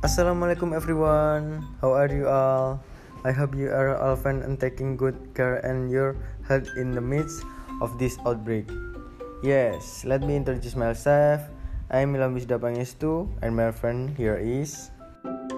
Assalamualaikum everyone. How are you all? I hope you are all fine and taking good care and your health in the midst of this outbreak. Yes, let me introduce myself. I am Ilham Wisda Pangestu and my friend here is